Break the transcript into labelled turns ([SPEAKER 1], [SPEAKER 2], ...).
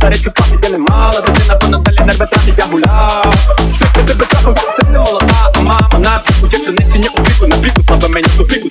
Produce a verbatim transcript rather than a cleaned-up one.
[SPEAKER 1] старичу пам'ять я не мала. Дитина, воно далі нерви тратить, я гуляв. Що ти тебе трахав, ти не молода, а мама на піку. Якщо не фіня у віку, на піку, слабе мені у піку.